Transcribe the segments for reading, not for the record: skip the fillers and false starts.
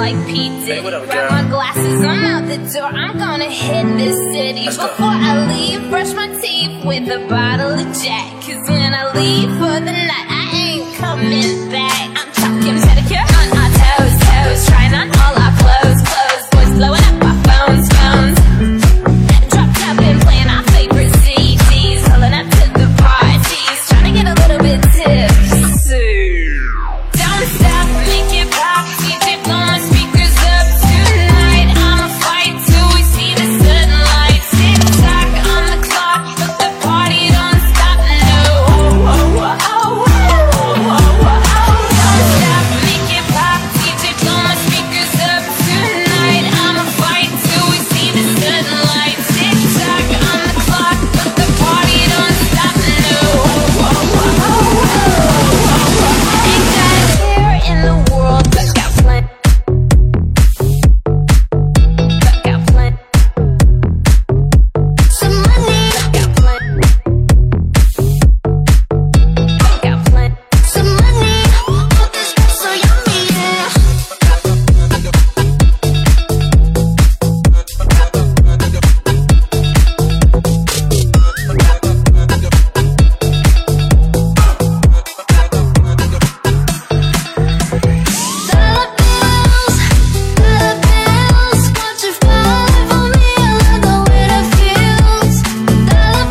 like P. Diddy. Grab my glasses, I'm out the door. I'm gonna hit this city. Before I leave, brush my teeth with a bottle of Jack. Cause when I leave for the night, I ain't coming back. I'm talking pedicure on our toes, toes. Trying on all our clothes, clothes. Boys blowing up our phones, phones. Dropped up and playing our favorite CDs. Pulling up to the parties, trying to get a little bit tipsy. Don't stop, make it pop. DJ blow my speakers up tonight. I'ma fight till we see the sunlight. Tick tock on the clock, but the party don't stop. No. Oh, oh, oh, oh, oh, oh, oh. Don't stop, make it pop. DJ blow my speakers up tonight. I'ma fight till we see the sunlight. Tick tock on the clock, but the party don't stop. No. Oh, oh, oh, oh, oh. Ain't got a care in the world, but got plenty. But got plenty. Some money, got plenty. But got plenty. Some money, all this so yummy, yeah. Dollar bills, won't you fall for me? I love the way that feels. Dollar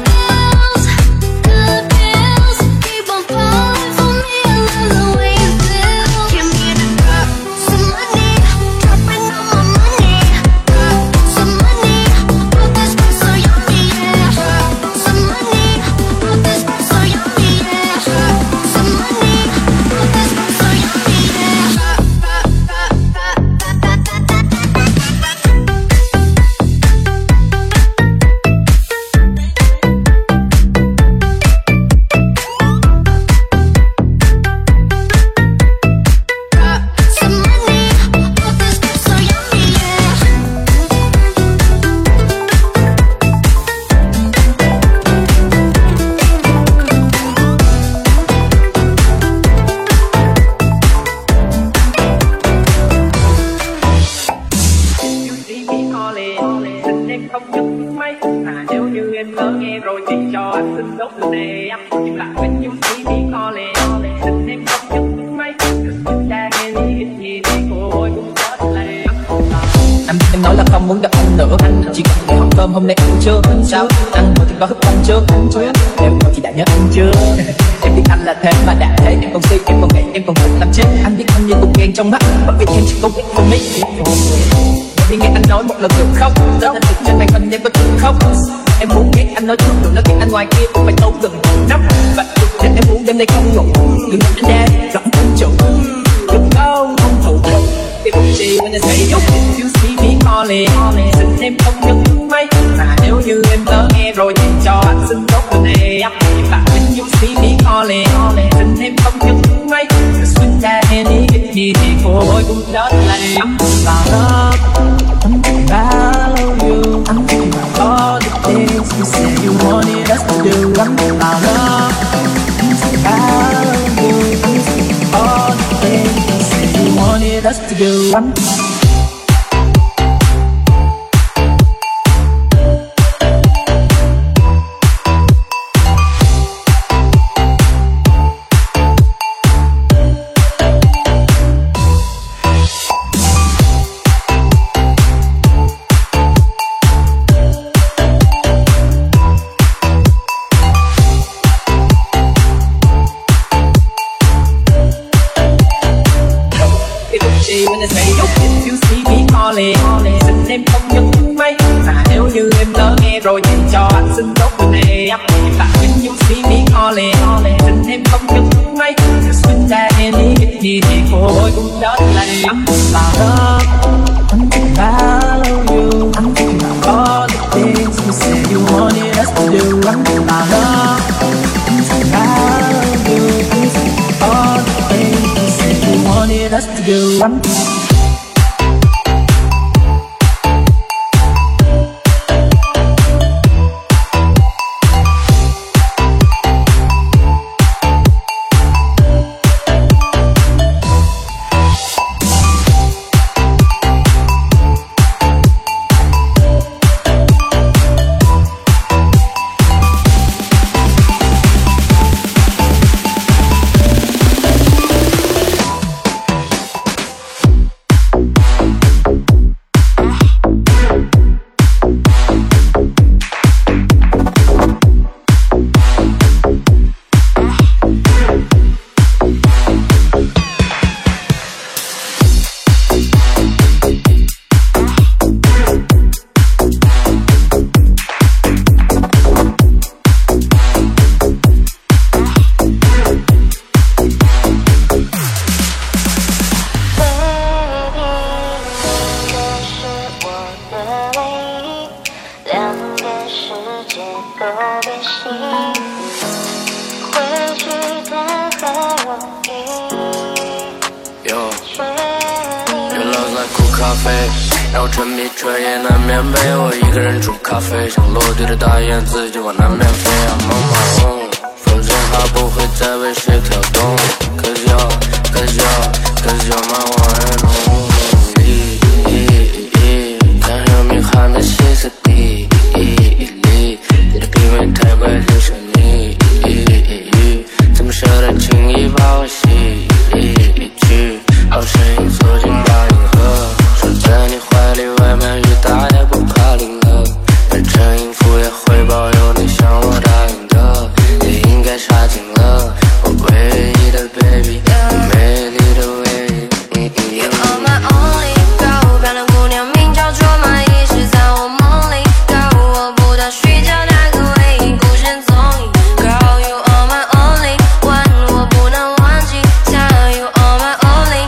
bills, keep on falling for me. I love the way you feel. Give me the drop, some money, dropping all my money. Some money, all this so yummy, yeah. Some money, all this so yummy, yeah. Some money, all this so yummy, yeah. Some money, all this so yummy, yeah. You see me calling, xin em không nhấc máy. Mà nếu như em lỡ nghe rồi thì cho anh xin đốt từ nè. Nhưng lại when you see me calling, xin em không nhấc máy. Cause chúng ta nghe đi ít gì thì cô ơi cũng có lệ. Anh biết em nói là không muốn gặp anh nữa. Anh chỉ cần để hỏi cơm hôm nay ăn chưa. Sao ăn rồi thì có thức ăn chưa. Nếu rồi thì đã nhớ ăn chưa. Em biết anh là thế mà đã thế. Em còn suy, em còn nghĩ, em còn thích làm chết. Anh biết anh như cục đèn trong mắt. Bởi vì em chỉ có biết for me. Vì nghe anh nói một lần được không. Đó là việc trên màn hình em có được không. Em muốn nghe anh nói trước được nói chuyện anh ngoài kia cũng phải tâu gần năm. Và để em muốn đêm nay không ngủ. Đừng nói anh ra rõ anh chủ. Đừng không thủ được. Chị when I say yo, if you see me calling, xin em không nhấc máy. Mà nếu như em lỡ nghe rồi thì cho anh xin đốt từ nè. Và when you see me calling, xin em không nhấc máy. Cause when that any get me thì cô ơi cũng đớt lệ. I'm about love, I'm about you, I'm thinking about all the things you said you wanted us to do. I'm about love, I'm thinking about you, I'm thinking about all the things you said you wanted us to do. When I say yo, if you see me calling, xin em không nhấc máy. Mà nếu như em lỡ nghe rồi thì cho anh xin đốt từ nè. Và when you see me calling, xin em không nhấc máy. Cause when that any get me thì cô ơi cũng đớt lệ. I'm about love, I'm thinking about you, I'm thinking about all the things you said you wanted us to do. I'm about love, I'm thinking about you, I'm thinking about all the things you said you wanted us to do. Your love's like 苦咖啡，让我沉迷彻夜难眠陪我一个人煮咖啡，像落地的大雁，自己往南面飞。I'm on my own， 风筝它不会再为谁跳动 ，Cause you're my one and only。想用命喊的歇斯底里，你的品味太怪，就像你，怎么舍得轻易把我洗去？好声音缩进大银河，守在你怀里，外面雨大也不怕淋了。变成音符也会保佑你，像我答应的，也应该杀进了我唯一的 baby， 美丽的唯一。 You are my only girl， 漂亮姑娘名叫卓玛，一直在我梦里 girl， 我不到睡觉那个唯一，孤身踪影 girl。You are my only one， 我不能忘记她。You are my only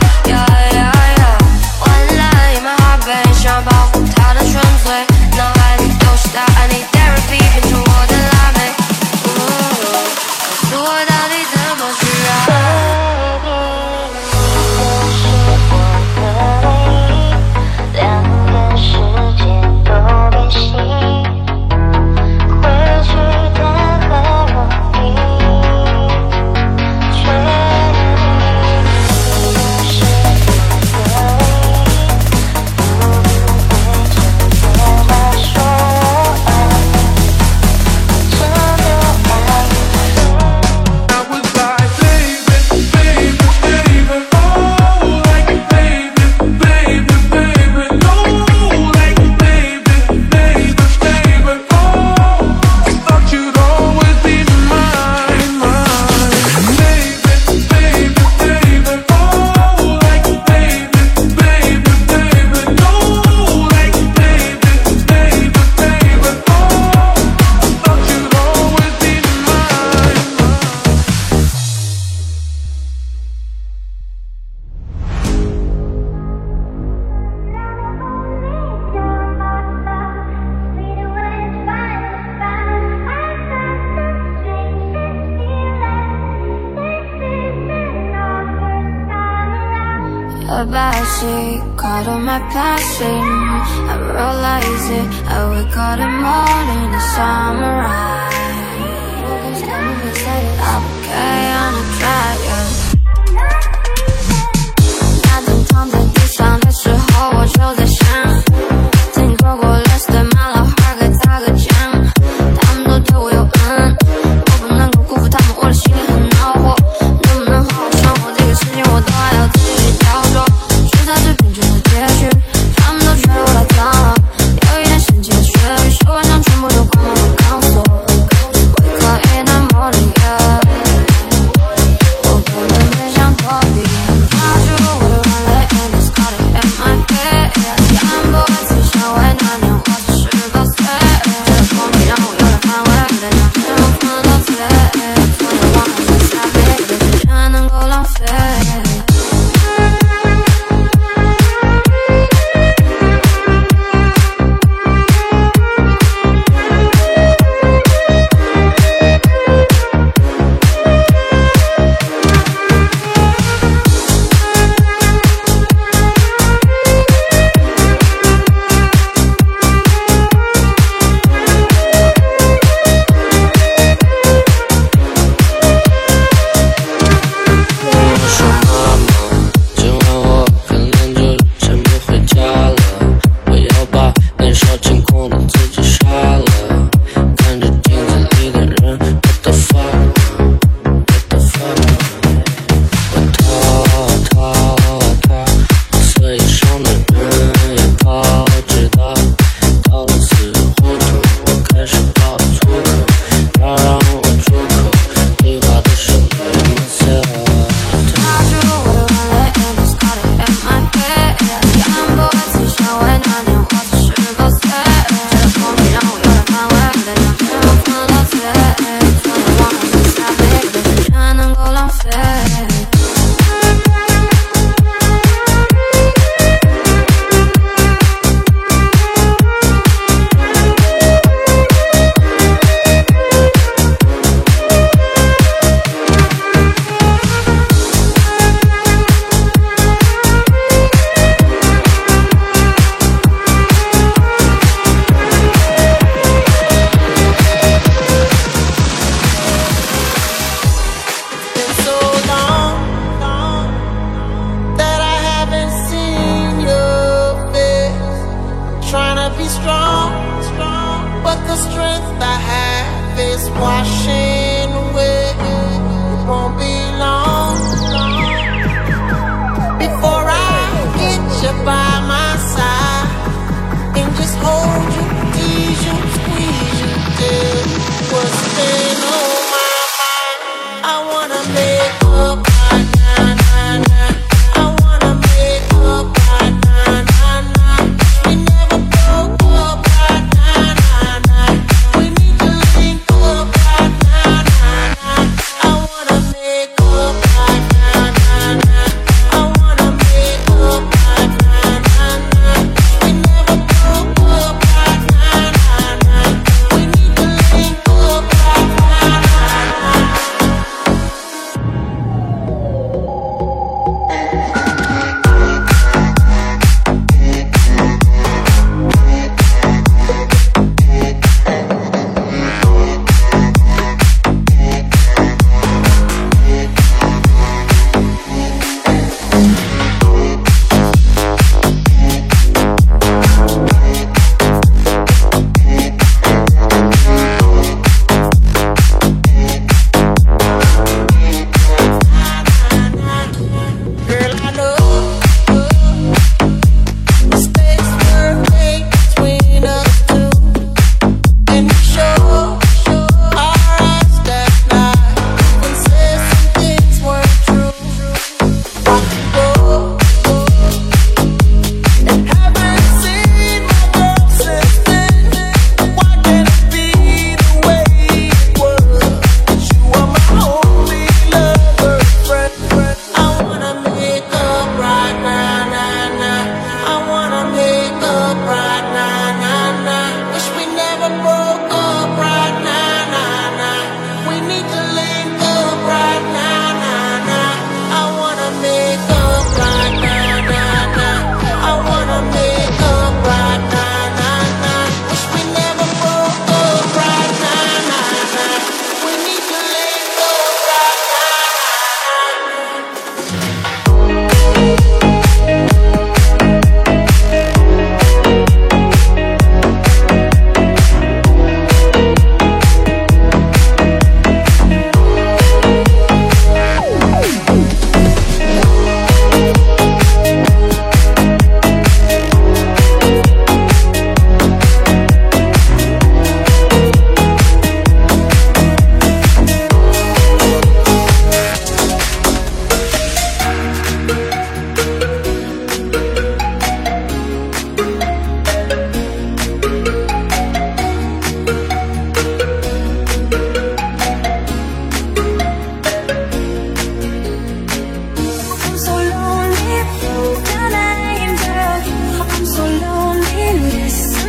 yeah。完了 in my heart babe， 想要保护她的纯粹，脑海里都是她爱你 therapy， 变成我的辣妹。告诉我到底怎么去爱。A backseat, caught on my passing. I realize it, I wake up in the morning, the sunrise. I'm okay on a track, yeah. 那天躺在地上的时候，我就在想，听说过 Let's do my老汉该咋个讲？他们都对我有恩，我不能够辜负他们，我的心里很恼火。能不能好好生活？这个世界我都还要自己去雕琢。是在最平静的结局，他们都觉得我太脏了，有一点神奇的血雨，手腕上全部都挂满了钢索。Wake up in the morning, yeah.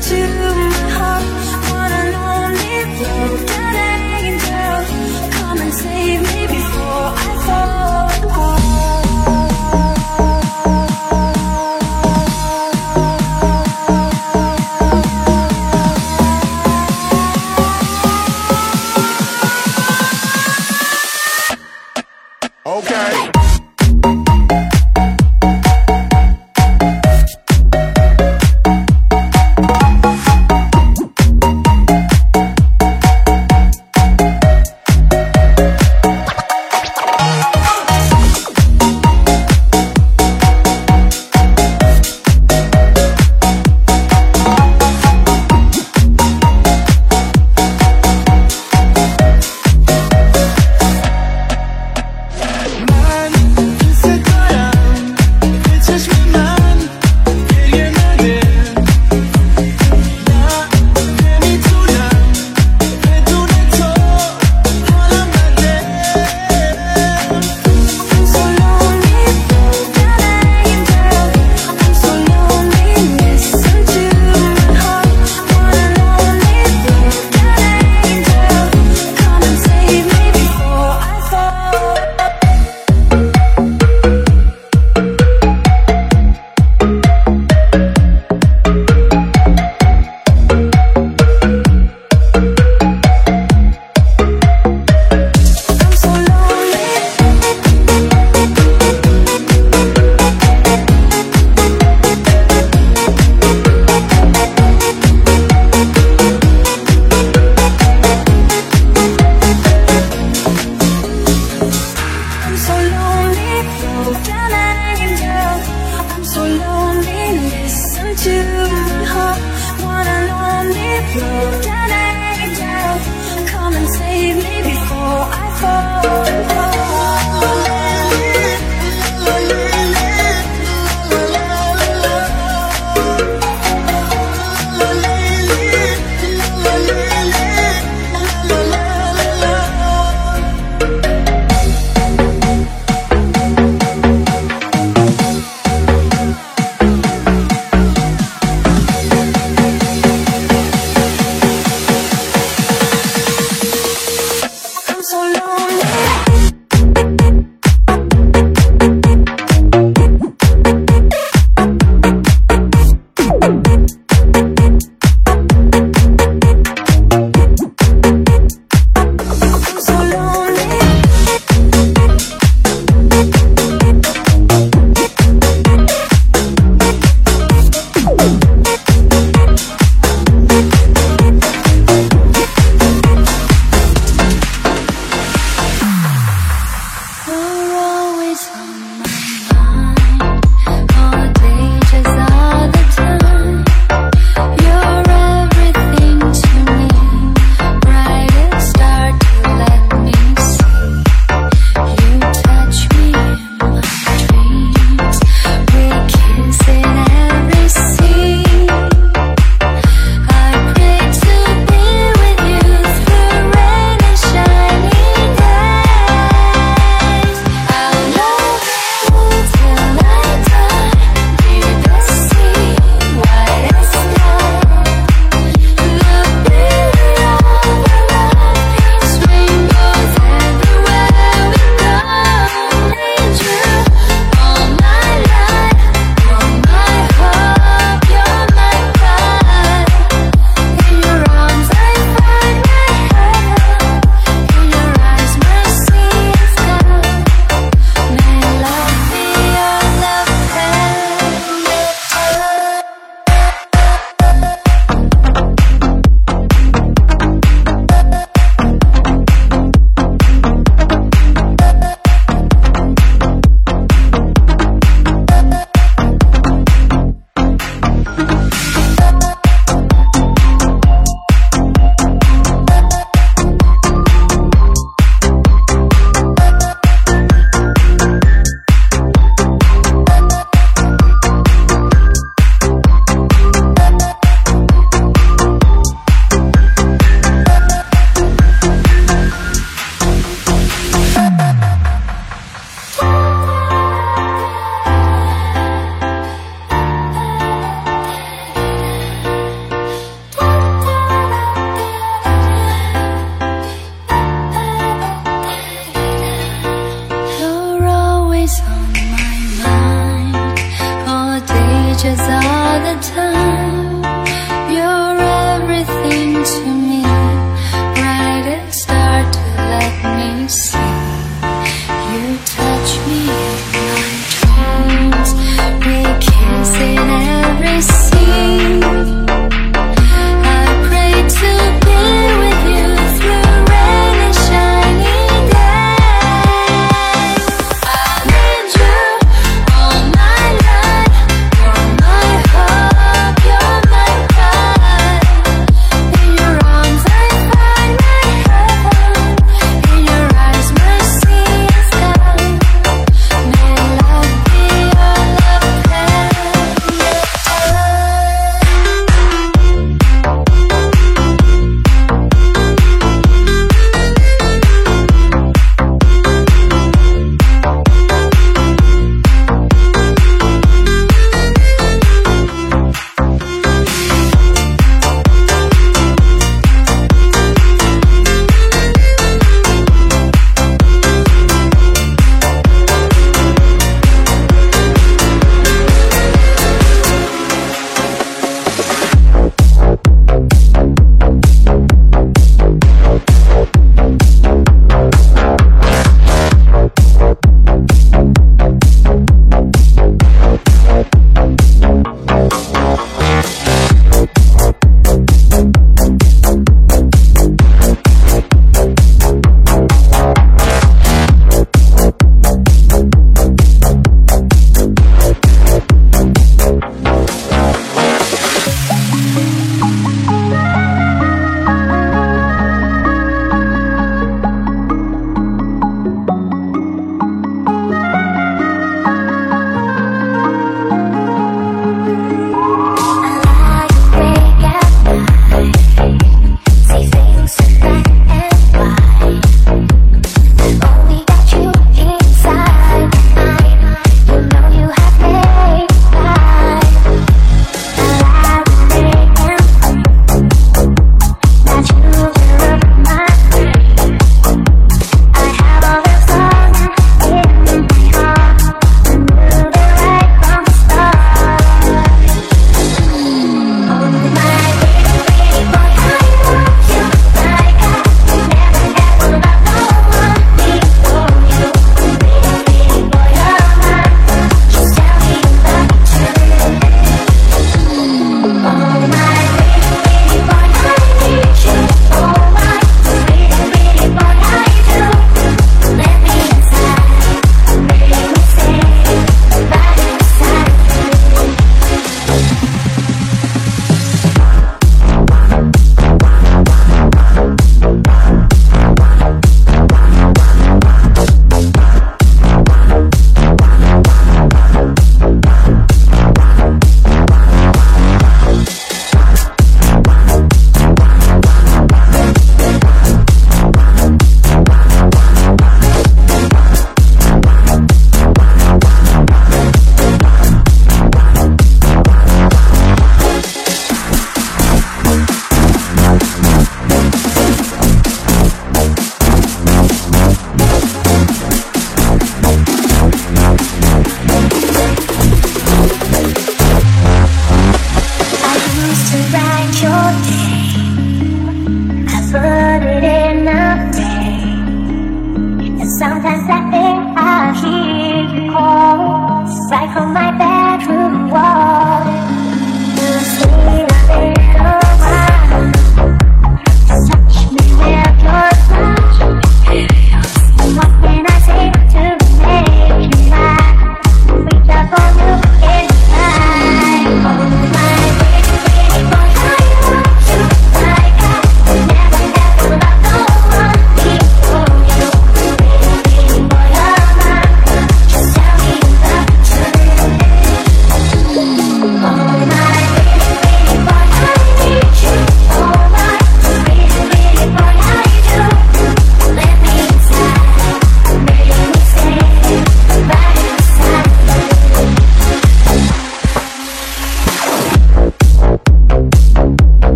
into my heart. One and only broken angel, come and save me before I fall apart. Okay.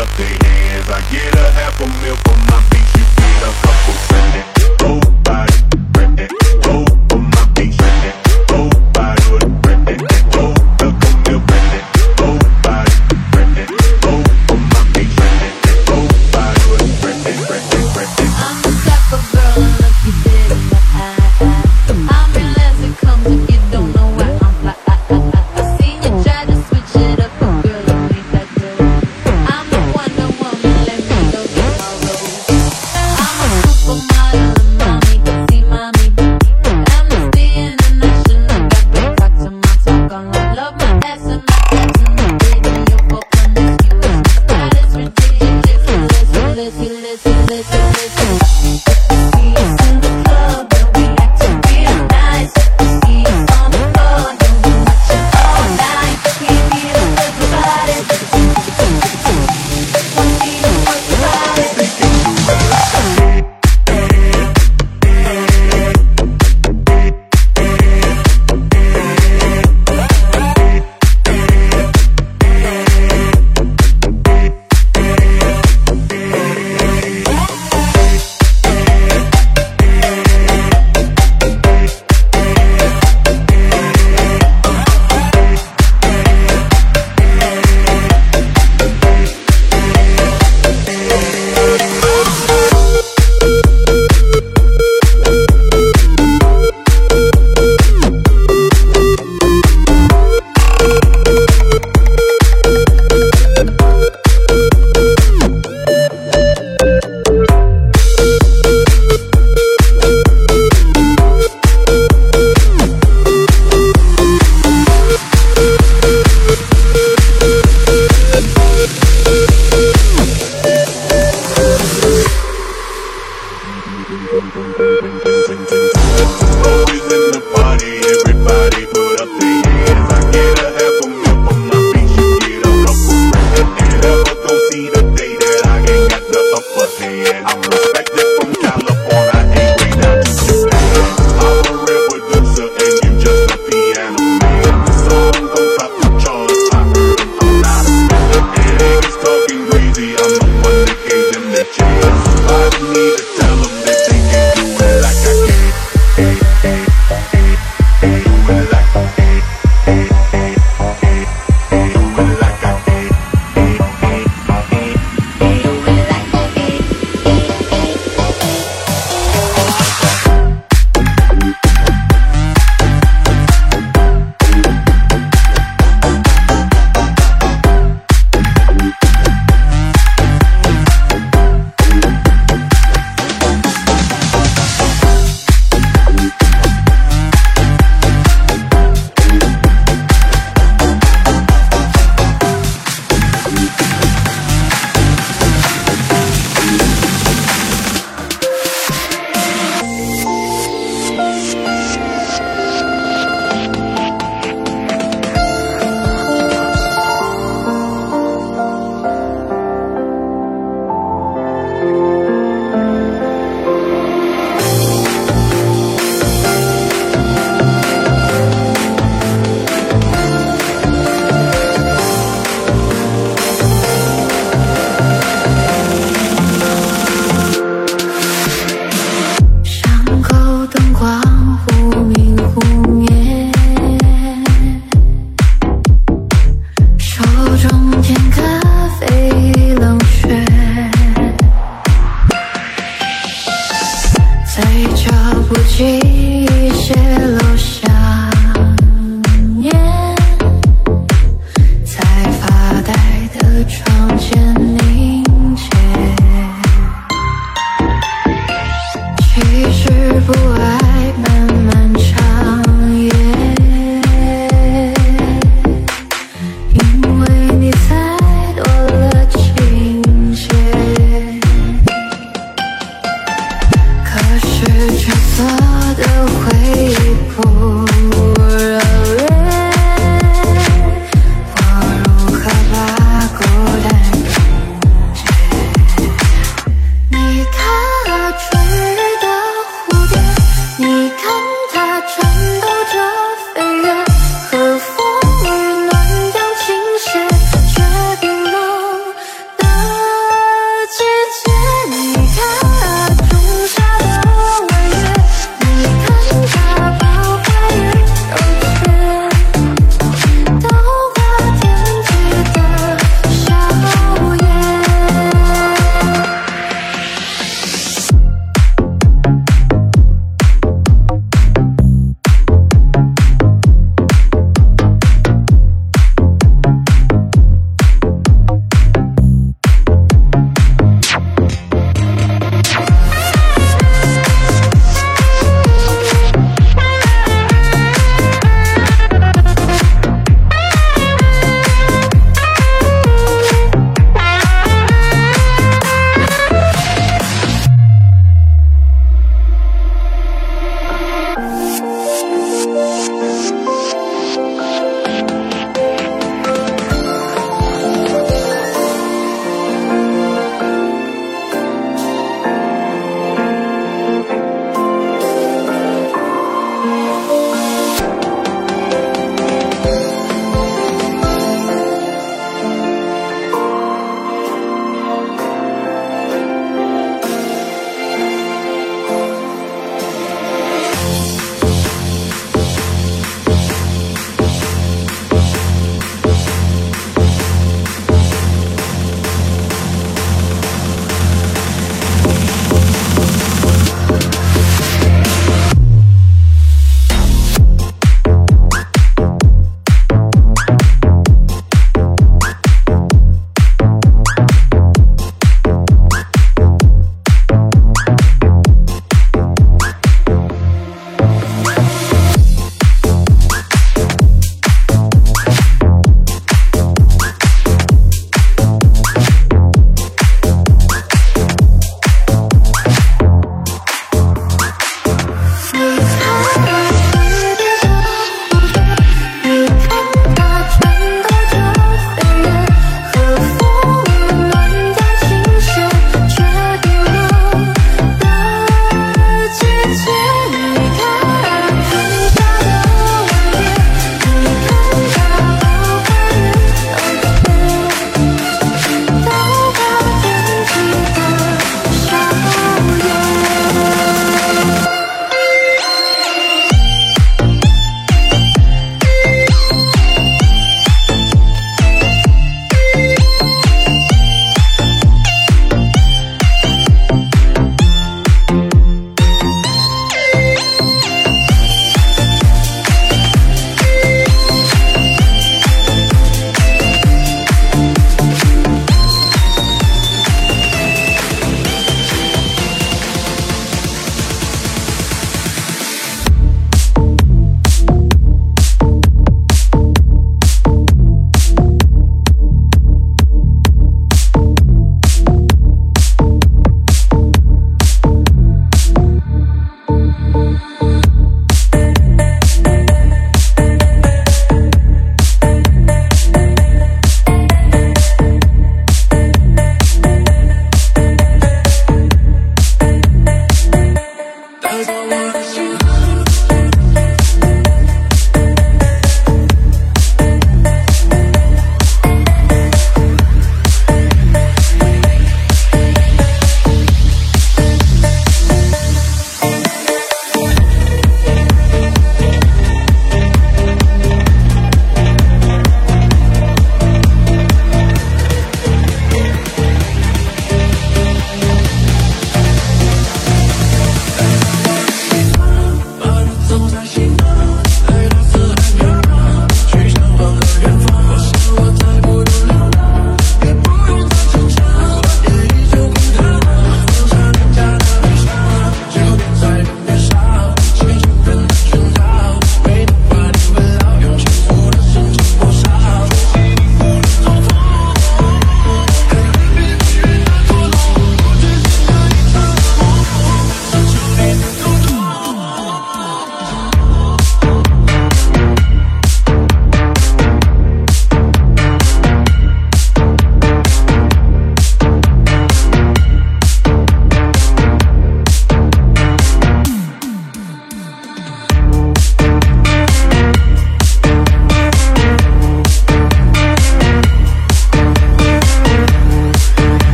up their hands. I get a half a meal for my beats, you get a couple cents. Go body, go for my beats, go body with a friend, go look a meal, go body, go for my beats, go body with a friend. I'm the type of girl I look you dead in the eye. I'm real as it comes if you don't know why I'm fly. I seen you try to switch it up, but girl, you ain't that good. I'm the one that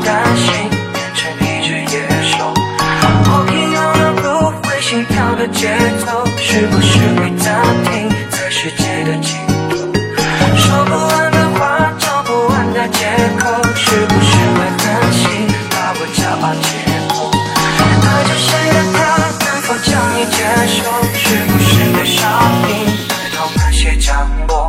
担心变成一只野兽。我平庸的不会心跳的节奏，是不是会暂停在世界的尽头？说不完的话，找不完的借口，是不是会狠心把我骄傲解剖？爱着谁的他能否将你接受？是不是对伤病对痛那些降落？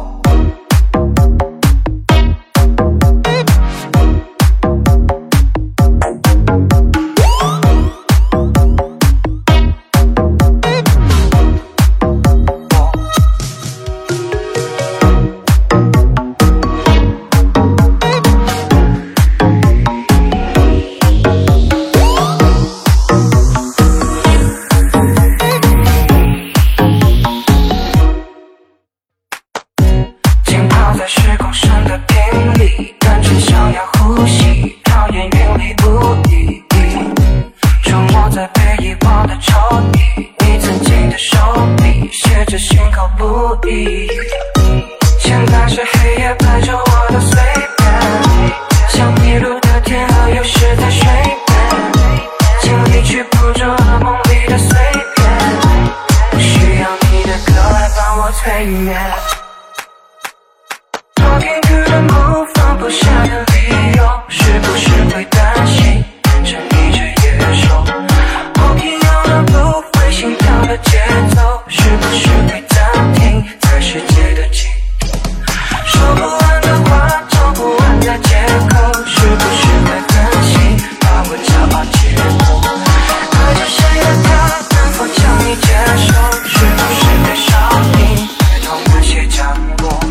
在时空上的定理，单纯想要呼吸，讨厌云里雾里，出没在被遗忘的抽屉，你曾经的手笔写着心口不一，前半是黑夜伴着我的随便，像迷路的天鹅有时在水边，尽力去捕捉噩梦里的碎片，不需要你的歌来帮我催眠。Talking to the moon， 放不下的理由，是不是会担心变成一只野兽？我平庸的不会心跳的节奏，是不是会暂停在世界的尽头？说不完的话，找不完的借口，是不是会狠心把我骄傲解剖？爱着谁的他能否将你接受？是不是对伤病对痛那些降落？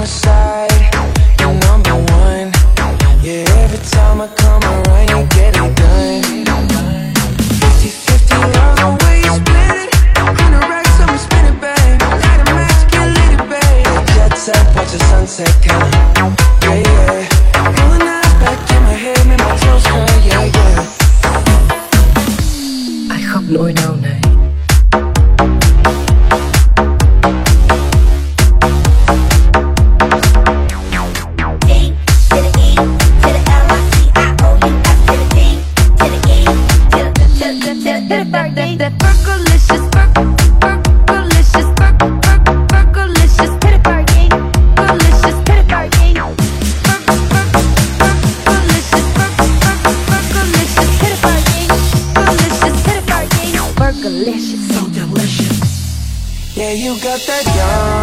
my side, you're number one. Yeah, every time I come around, you get it done. 50-50, love the way you split it. 100 racks, I'ma spin it, babe. Light a match, get lit, it, babe. Jet set, watch the sunset, kinda. Yeah, yeah. Rolling eyes back in my head, make my toes curl, yeah, yeah. Ai khóc nỗi đau này. Yeah, you got that young